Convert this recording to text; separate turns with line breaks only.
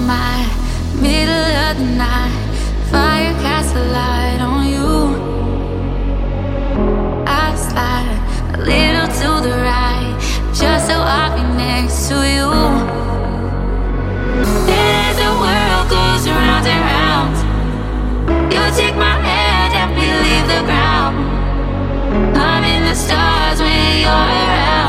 my middle of the night. Fire casts a light on you. I slide a little to the right, just so I'll be next to you. Then as the world goes round and round, you take my hand and we leave the ground. I'm in the stars when you're around.